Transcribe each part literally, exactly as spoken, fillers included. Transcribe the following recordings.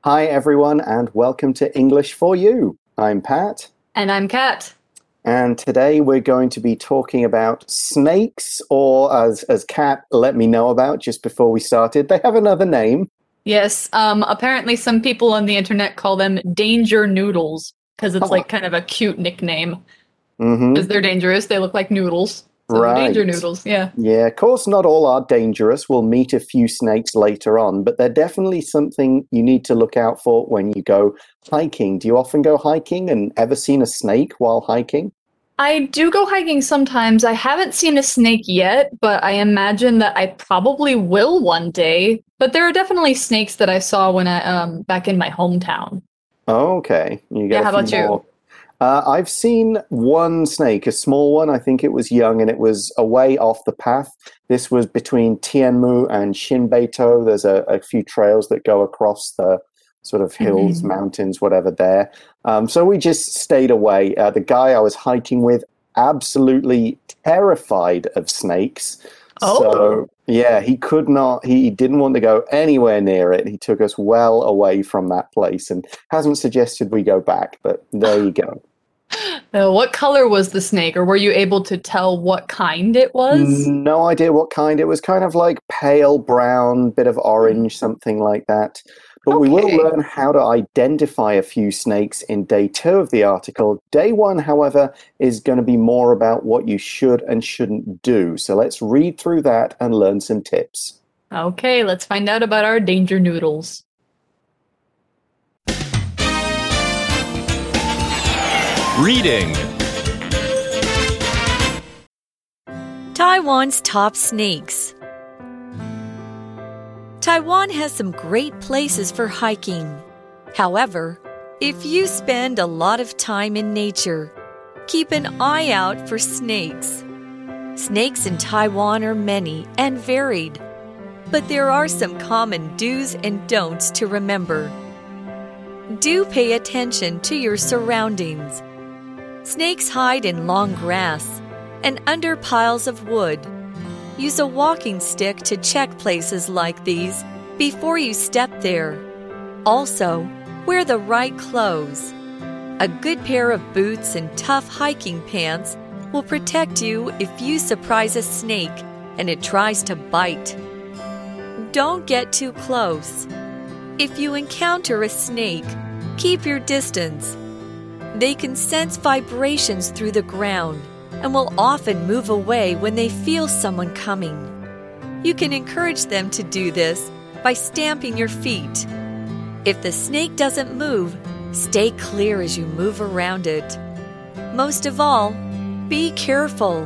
Hi, everyone, and welcome to English for You. I'm Pat. And I'm Kat. And today we're going to be talking about snakes, or as, as Kat let me know about just before we started, they have another name. Yes, um, apparently some people on the internet call them danger noodles because it's Huh. like kind of a cute nickname. Mm-hmm. Because they're dangerous, they look like noodles. So Right. danger noodles, yeah. Yeah, of course, not all are dangerous. We'll meet a few snakes later on, but they're definitely something you need to look out for when you go hiking. Do you often go hiking and ever seen a snake while hiking? I do go hiking sometimes. I haven't seen a snake yet, but I imagine that I probably will one day. But there are definitely snakes that I saw when I um back in my hometown. Oh, okay. You get Yeah, a how few about you? more. Uh, I've seen one snake, a small one. I think it was young and it was away off the path. This was between Tianmu and Shinbeito. There's a, a few trails that go across the sort of hills, Mhm. mountains, whatever there. Um, so we just stayed away. Uh, the guy I was hiking with, absolutely terrified of snakes. Oh, So yeah, he could not, he didn't want to go anywhere near it. He took us well away from that place and hasn't suggested we go back, but there you go. Uh, what color was the snake, or were you able to tell what kind it was? No idea what kind. It was kind of like pale brown, bit of Hmm. orange, something like that. But we will Okay. learn how to identify a few snakes in day two of the article. Day one, however, is going to be more about what you should and shouldn't do. So let's read through that and learn some tips. Okay, let's find out about our danger noodles. Reading. Taiwan's top snakes. Taiwan has some great places for hiking. However, if you spend a lot of time in nature, keep an eye out for snakes. Snakes in Taiwan are many and varied, but there are some common do's and don'ts to remember. Do pay attention to your surroundings. Snakes hide in long grass and under piles of wood. Use a walking stick to check places like these before you step there. Also, wear the right clothes. A good pair of boots and tough hiking pants will protect you if you surprise a snake and it tries to bite. Don't get too close. If you encounter a snake, keep your distance. They can sense vibrations through the ground and will often move away when they feel someone coming. You can encourage them to do this by stamping your feet. If the snake doesn't move, stay clear as you move around it. Most of all, be careful.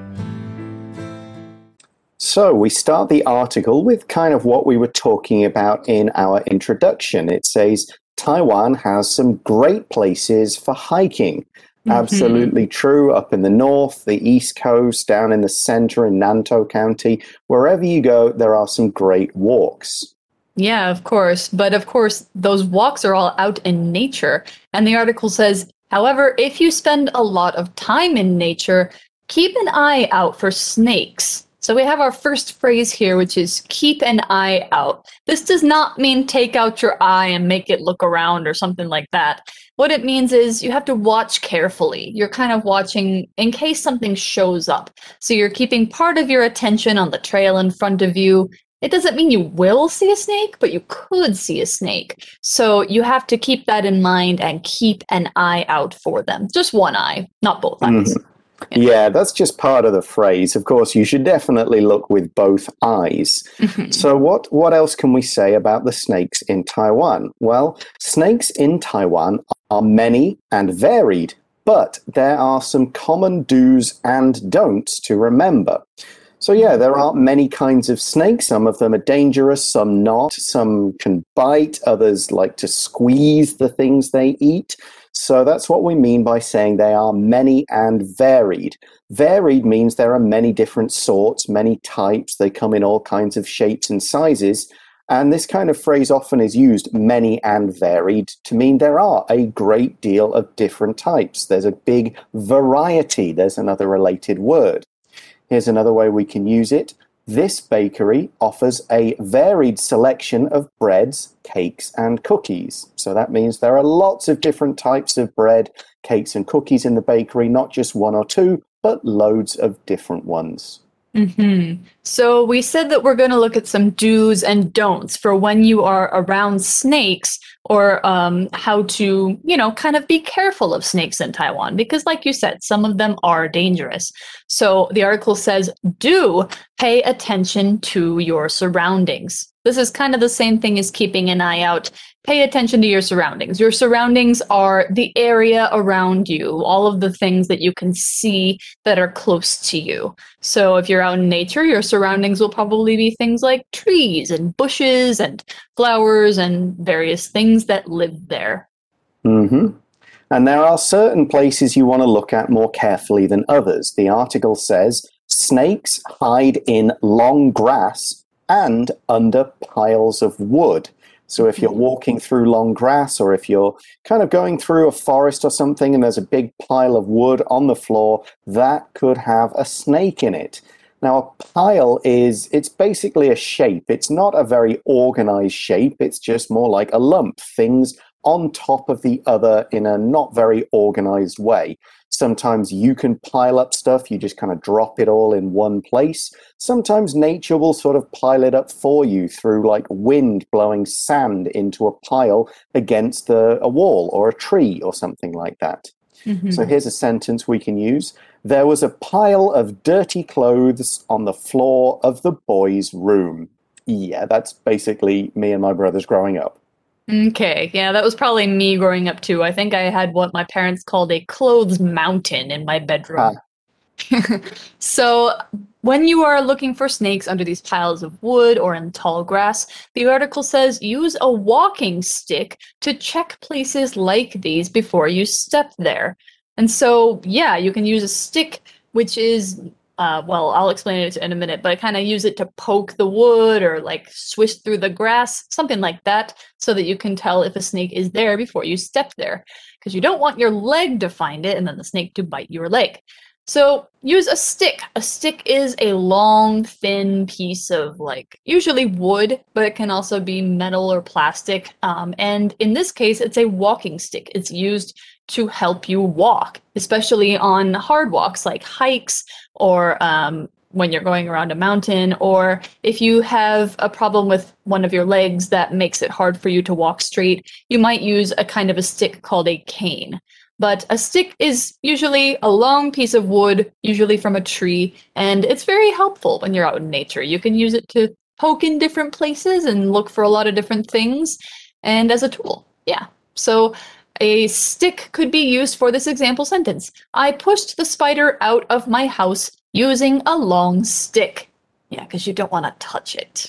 So we start the article with kind of what we were talking about in our introduction. It says, Taiwan has some great places for hiking. Absolutely true. Up in the north, the east coast, down in the center in Nantou County, wherever you go, there are some great walks. Yeah, of course. But of course, those walks are all out in nature. And the article says, however, if you spend a lot of time in nature, keep an eye out for snakes. So we have our first phrase here, which is keep an eye out. This does not mean take out your eye and make it look around or something like that. What it means is you have to watch carefully. You're kind of watching in case something shows up. So you're keeping part of your attention on the trail in front of you. It doesn't mean you will see a snake, but you could see a snake. So you have to keep that in mind and keep an eye out for them. Just one eye, not both eyes. Mm-hmm. Yeah, that's just part of the phrase. Of course, you should definitely look with both eyes. Mm-hmm. So what, what else can we say about the snakes in Taiwan? Well, snakes in Taiwan are many and varied, but there are some common do's and don'ts to remember. So yeah, there are many kinds of snakes. Some of them are dangerous, some not. Some can bite, others like to squeeze the things they eat. So that's what we mean by saying they are many and varied. Varied means there are many different sorts, many types. They come in all kinds of shapes and sizes. And this kind of phrase often is used, many and varied, to mean there are a great deal of different types. There's a big variety. There's another related word. Here's another way we can use it. This bakery offers a varied selection of breads, cakes, and cookies. So that means there are lots of different types of bread, cakes, and cookies in the bakery, not just one or two, but loads of different ones. Mm-hmm. So we said that we're going to look at some do's and don'ts for when you are around snakes, or um, how to, you know, kind of be careful of snakes in Taiwan, because like you said, some of them are dangerous. So the article says, do pay attention to your surroundings. This is kind of the same thing as keeping an eye out. Pay attention to your surroundings. Your surroundings are the area around you, all of the things that you can see that are close to you. So if you're out in nature, your surroundings will probably be things like trees and bushes and flowers and various things that live there. Mm-hmm. And there are certain places you want to look at more carefully than others. The article says snakes hide in long grass and under piles of wood. So if you're walking through long grass, or if you're kind of going through a forest or something and there's a big pile of wood on the floor, that could have a snake in it. Now, a pile is, it's basically a shape. It's not a very organized shape. It's just more like a lump, things on top of the other in a not very organized way. Sometimes you can pile up stuff, you just kind of drop it all in one place. Sometimes nature will sort of pile it up for you through like wind blowing sand into a pile against the, a wall or a tree or something like that. Mm-hmm. So here's a sentence we can use. There was a pile of dirty clothes on the floor of the boys' room. Yeah, that's basically me and my brothers growing up. Okay, yeah, that was probably me growing up too. I think I had what my parents called a clothes mountain in my bedroom. Ah. So when you are looking for snakes under these piles of wood or in tall grass, the article says use a walking stick to check places like these before you step there. And so, yeah, you can use a stick, which is Uh, well, I'll explain it in a minute, but kind of use it to poke the wood or like swish through the grass, something like that, so that you can tell if a snake is there before you step there, because you don't want your leg to find it and then the snake to bite your leg. So use a stick. A stick is a long, thin piece of like usually wood, but it can also be metal or plastic. Um, and in this case, it's a walking stick. It's used to help you walk, especially on hard walks like hikes, or um, when you're going around a mountain, or if you have a problem with one of your legs that makes it hard for you to walk straight, you might use a kind of a stick called a cane. But a stick is usually a long piece of wood, usually from a tree, and it's very helpful when you're out in nature. You can use it to poke in different places and look for a lot of different things, and as a tool. Yeah. So a stick could be used for this example sentence. I pushed the spider out of my house using a long stick. Yeah, because you don't want to touch it.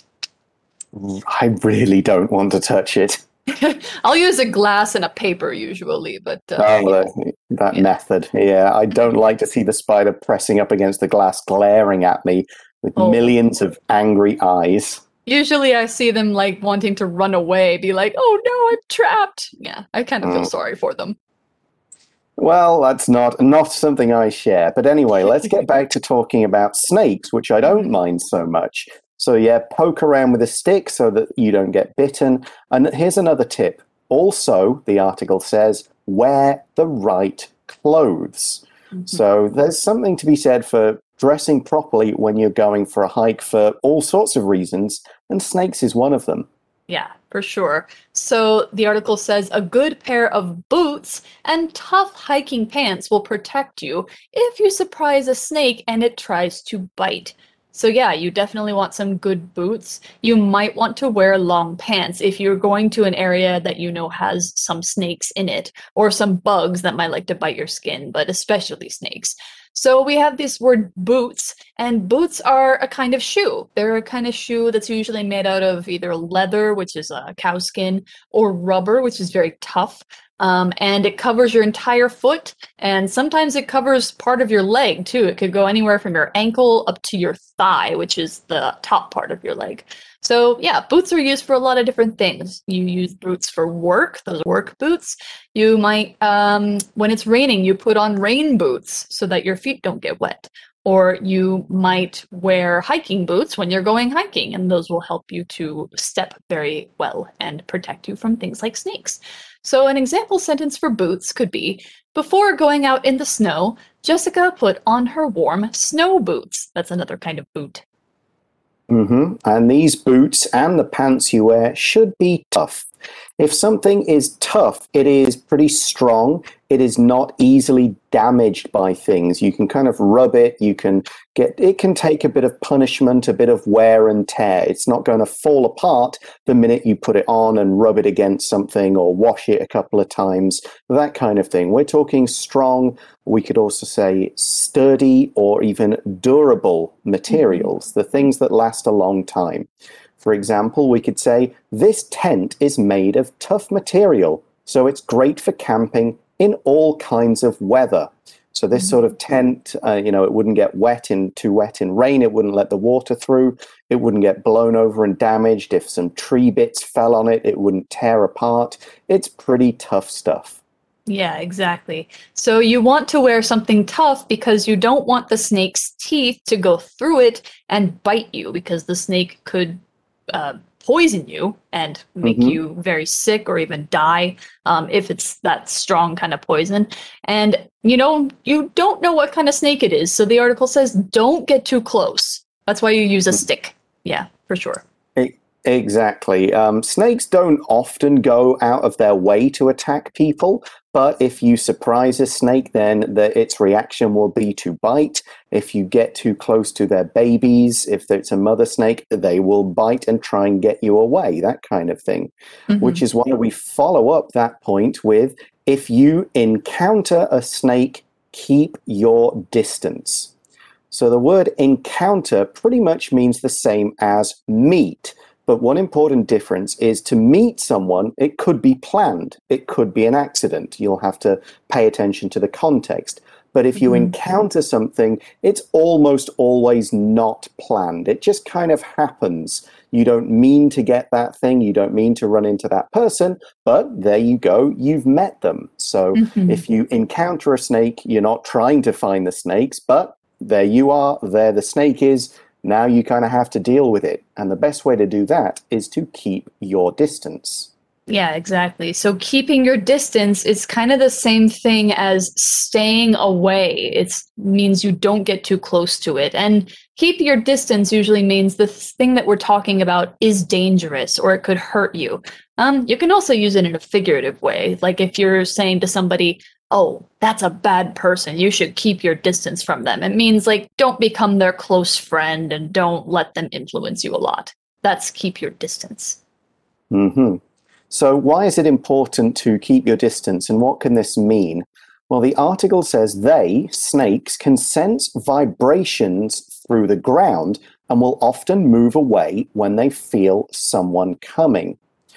I really don't want to touch it. I'll use a glass and a paper usually, but... Uh, oh, that, that yeah. method. Yeah, I don't like to see the spider pressing up against the glass, glaring at me with oh. millions of angry eyes. Usually I see them like wanting to run away, be like, oh no, I'm trapped. Yeah, I kind of feel mm. sorry for them. Well, that's not, not something I share. But anyway, let's get back to talking about snakes, which I don't mind so much. So yeah, poke around with a stick so that you don't get bitten. And here's another tip. Also, the article says, wear the right clothes. Mm-hmm. So there's something to be said for dressing properly when you're going for a hike for all sorts of reasons, and snakes is one of them. Yeah, for sure. So the article says a good pair of boots and tough hiking pants will protect you if you surprise a snake and it tries to bite. So yeah, you definitely want some good boots. You might want to wear long pants if you're going to an area that you know has some snakes in it, or some bugs that might like to bite your skin, but especially snakes. So we have this word boots, and boots are a kind of shoe. They're a kind of shoe that's usually made out of either leather, which is a cow skin, or rubber, which is very tough. Um, and it covers your entire foot, and sometimes it covers part of your leg too. It could go anywhere from your ankle up to your thigh, which is the top part of your leg. So yeah, boots are used for a lot of different things. You use boots for work, those work boots. You might, um, when it's raining, you put on rain boots so that your feet don't get wet. Or you might wear hiking boots when you're going hiking, and those will help you to step very well and protect you from things like snakes. So an example sentence for boots could be, before going out in the snow, Jessica put on her warm snow boots. That's another kind of boot. Mm-hmm. And these boots and the pants you wear should be tough. If something is tough, it is pretty strong. It is not easily damaged by things. You can kind of rub it. You can get, it can take a bit of punishment, a bit of wear and tear. It's not going to fall apart the minute you put it on and rub it against something or wash it a couple of times, that kind of thing. We're talking strong. We could also say sturdy or even durable materials, mm-hmm. the things that last a long time. For example, we could say, this tent is made of tough material, so it's great for camping in all kinds of weather. So this sort of tent, uh, you know, it wouldn't get wet in too wet in rain. It wouldn't let the water through. It wouldn't get blown over and damaged. If some tree bits fell on it, it wouldn't tear apart. It's pretty tough stuff. Yeah, exactly. So you want to wear something tough because you don't want the snake's teeth to go through it and bite you, because the snake could uh, poison you and make mm-hmm. you very sick or even die um, if it's that strong kind of poison. And, you know, you don't know what kind of snake it is. So the article says, don't get too close. That's why you use a stick. Yeah, for sure. Exactly. Um, snakes don't often go out of their way to attack people, but if you surprise a snake, then the, its reaction will be to bite. If you get too close to their babies, if it's a mother snake, they will bite and try and get you away, that kind of thing. Mm-hmm. Which is why we follow up that point with, if you encounter a snake, keep your distance. So the word encounter pretty much means the same as meet. But one important difference is, to meet someone, it could be planned. It could be an accident. You'll have to pay attention to the context. But if you mm-hmm. encounter something, it's almost always not planned. It just kind of happens. You don't mean to get that thing. You don't mean to run into that person. But there you go. You've met them. So mm-hmm. if you encounter a snake, you're not trying to find the snakes, but there you are. There the snake is. Now you kind of have to deal with it. And the best way to do that is to keep your distance. Yeah, exactly. So keeping your distance is kind of the same thing as staying away. It means you don't get too close to it. And keep your distance usually means the thing that we're talking about is dangerous or it could hurt you. Um, you can also use it in a figurative way. Like if you're saying to somebody, oh, that's a bad person, you should keep your distance from them. It means like, don't become their close friend and don't let them influence you a lot. That's keep your distance. Mm-hmm. So why is it important to keep your distance, and what can this mean? Well, the article says they, snakes, can sense vibrations through the ground and will often move away when they feel someone coming.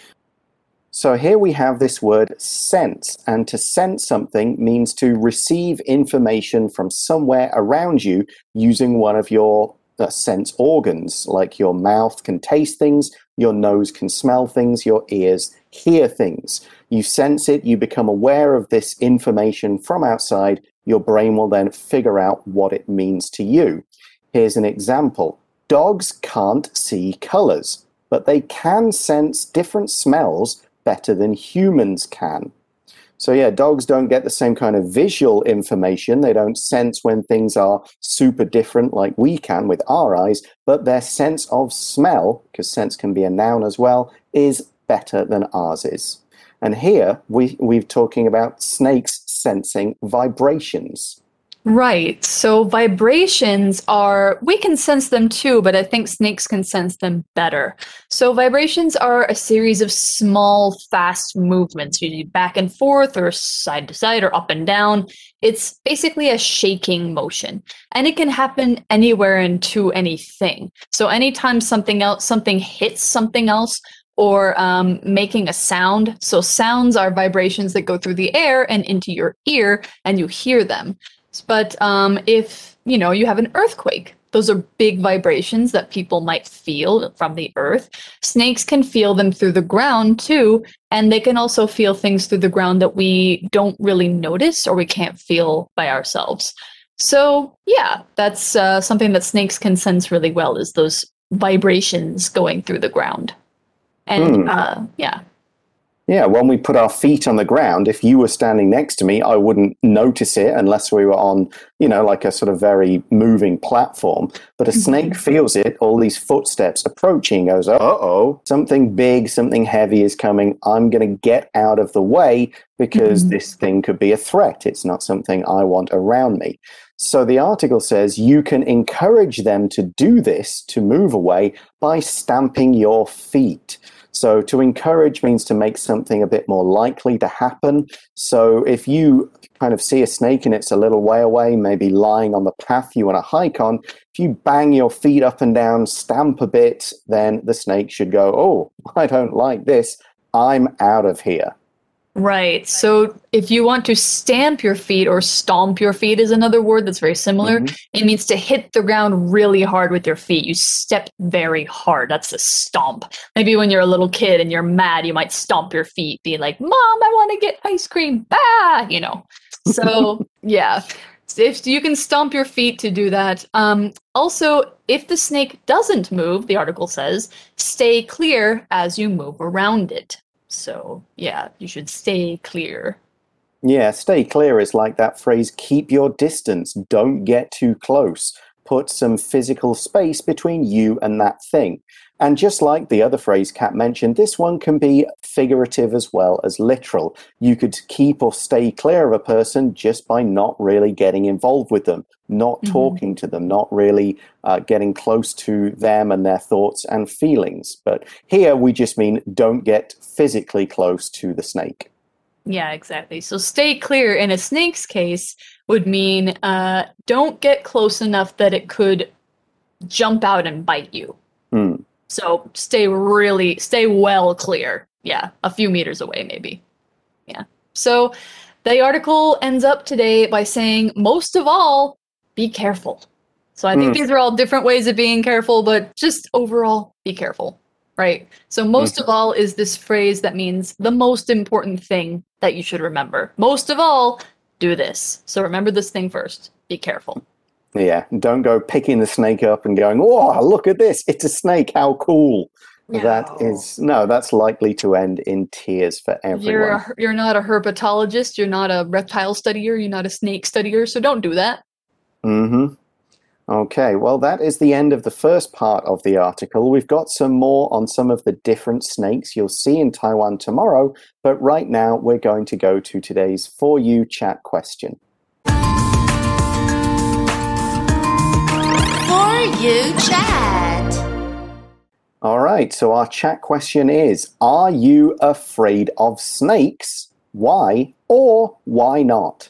So here we have this word sense, and to sense something means to receive information from somewhere around you using one of your uh, sense organs, like your mouth can taste things, your nose can smell things, your ears hear things. You sense it, you become aware of this information from outside, your brain will then figure out what it means to you. Here's an example. Dogs can't see colors, but they can sense different smells better than humans can. So yeah, dogs don't get the same kind of visual information. They don't sense when things are super different like we can with our eyes, but their sense of smell, because sense can be a noun as well, is better than ours is. And here we, we're talking about snakes sensing vibrations. Right. So vibrations are, we can sense them too, but I think snakes can sense them better. So vibrations are a series of small, fast movements, usually back and forth or side to side or up and down. It's basically a shaking motion, and it can happen anywhere and to anything. So anytime something else, something hits something else, or um, making a sound. So sounds are vibrations that go through the air and into your ear, and you hear them. But um, if, you know, you have an earthquake, those are big vibrations that people might feel from the earth. Snakes can feel them through the ground too, and they can also feel things through the ground that we don't really notice or we can't feel by ourselves. So yeah, that's uh, something that snakes can sense really well is those vibrations going through the ground. And Hmm. uh, yeah. Yeah, when we put our feet on the ground, if you were standing next to me, I wouldn't notice it unless we were on, you know, like a sort of very moving platform. But a snake Mhm. feels it, all these footsteps approaching, goes, uh-oh, something big, something heavy is coming. I'm going to get out of the way because Mhm. this thing could be a threat. It's not something I want around me. So the article says you can encourage them to do this, to move away, by stamping your feet. So to encourage means to make something a bit more likely to happen. So if you kind of see a snake and it's a little way away, maybe lying on the path you want to hike on, if you bang your feet up and down, stamp a bit, then the snake should go, oh, I don't like this. I'm out of here. Right. So if you want to stamp your feet, or stomp your feet is another word that's very similar, Mhm. it means to hit the ground really hard with your feet. You step very hard. That's a stomp. Maybe when you're a little kid and you're mad, you might stomp your feet, be like, Mom, I want to get ice cream. Ah, you know. So yeah. If you can stomp your feet to do that. Um, also, if the snake doesn't move, the article says, stay clear as you move around it. So, yeah, you should stay clear. Yeah, stay clear is like that phrase, keep your distance, don't get too close. Put some physical space between you and that thing. And just like the other phrase Kat mentioned, this one can be figurative as well as literal. You could keep or stay clear of a person just by not really getting involved with them, not Mhm. talking to them, not really uh, getting close to them and their thoughts and feelings. But here we just mean don't get physically close to the snake. Yeah, exactly. So, stay clear in a snake's case would mean uh, don't get close enough that it could jump out and bite you. Hmm. So, stay really, stay well clear. Yeah, a few meters away, maybe. Yeah. So, the article ends up today by saying, most of all, be careful. So, I think Hmm. these are all different ways of being careful, but just overall, be careful, right? So, most of all is this phrase that means the most important thing that you should remember. Most of all, do this. So, remember this thing first. Be careful. Yeah, don't go picking the snake up and going, "Oh, look at this! It's a snake! How cool!" That No. is no, that's likely to end in tears for You're everyone. a, you're not a herpetologist, you're not a reptile studier, you're not a snake studier, so don't do that. Mm-hmm. Okay, well, that is the end of the first part of the article. We've got some more on some of the different snakes you'll see in Taiwan tomorrow, but right now we're going to go to today's For You chat question. For You Chat. All right, so our chat question is, are you afraid of snakes? Why or why not?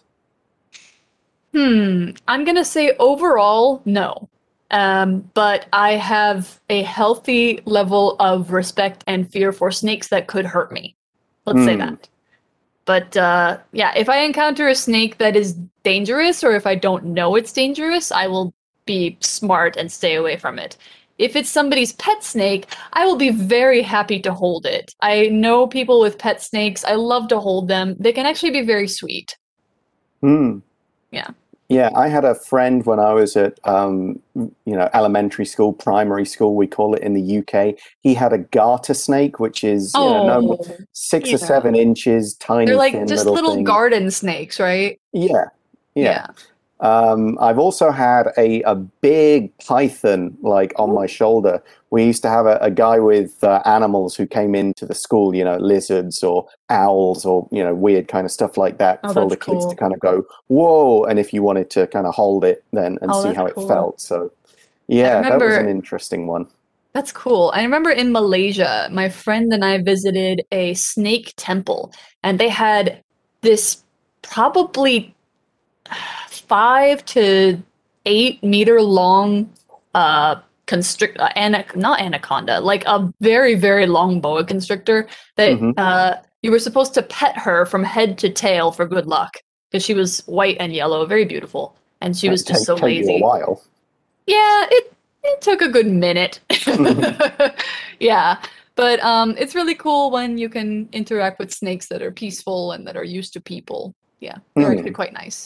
Hmm, I'm gonna say overall, no. Um, but I have a healthy level of respect and fear for snakes that could hurt me. Let's say Hmm. that. But uh, yeah, if I encounter a snake that is dangerous, or if I don't know it's dangerous, I will be smart and stay away from it. If it's somebody's pet snake, I will be very happy to hold it. I know people with pet snakes. I love to hold them. They can actually be very sweet. Hmm. Yeah. Yeah, I had a friend when I was at, um, you know, elementary school, primary school, we call it in the U K. He had a garter snake, which is, you know, no Oh, six or yeah. seven inches, They're tiny, like thin just little little thing. garden snakes, right? Yeah, yeah. Yeah. Um, I've also had a, a big python like on my shoulder. We used to have a, a guy with uh, animals who came into the school, you know, lizards or owls or, you know, weird kind of stuff like that Oh, for all that's the kids to cool. kind of go, whoa. And if you wanted to kind of hold it then and Oh, see that's how it cool. felt. So, I yeah, that was an remember interesting one. That's cool. I remember in Malaysia, my friend and I visited a snake temple, and they had this probably five to eight meter long uh constrict uh, ana- not anaconda, like a very, very long boa constrictor that Hmm. uh you were supposed to pet her from head to tail for good luck because she was white and yellow, very beautiful, and she was That'd just take, so take you a lazy. while. Yeah, it it took a good minute. Mhm. Yeah, but um, it's really cool when you can interact with snakes that are peaceful and that are used to people. Yeah, they're actually Hmm. quite nice.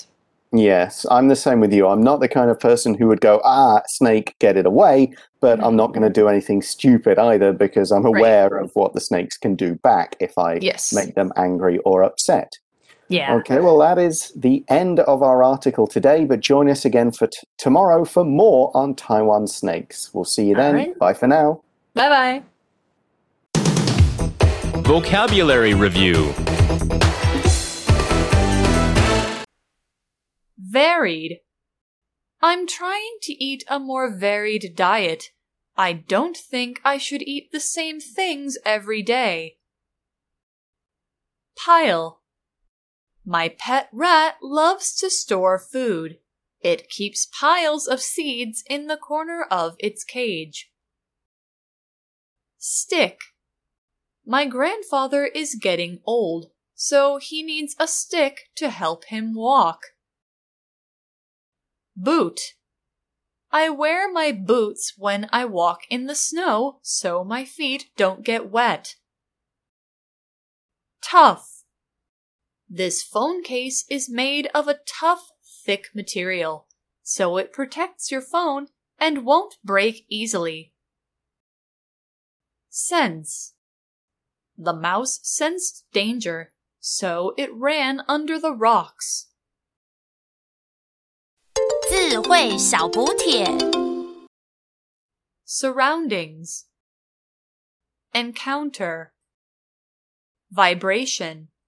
Yes, I'm the same with you. I'm not the kind of person who would go, ah, snake, get it away, but I'm not going to do anything stupid either because I'm aware right. of what the snakes can do back if I yes. make them angry or upset. Yeah. Okay, well, that is the end of our article today, but join us again for t- tomorrow for more on Taiwan snakes. We'll see you then. Right. Bye for now. Bye-bye. Vocabulary Review. Varied. I'm trying to eat a more varied diet. I don't think I should eat the same things every day. Pile. My pet rat loves to store food. It keeps piles of seeds in the corner of its cage. Stick. My grandfather is getting old, so he needs a stick to help him walk. Boot. I wear my boots when I walk in the snow so my feet don't get wet. Tough. This phone case is made of a tough, thick material, so it protects your phone and won't break easily. Sense. The mouse sensed danger, so it ran under the rocks. 智慧小補帖 Surroundings. Encounter. Vibration.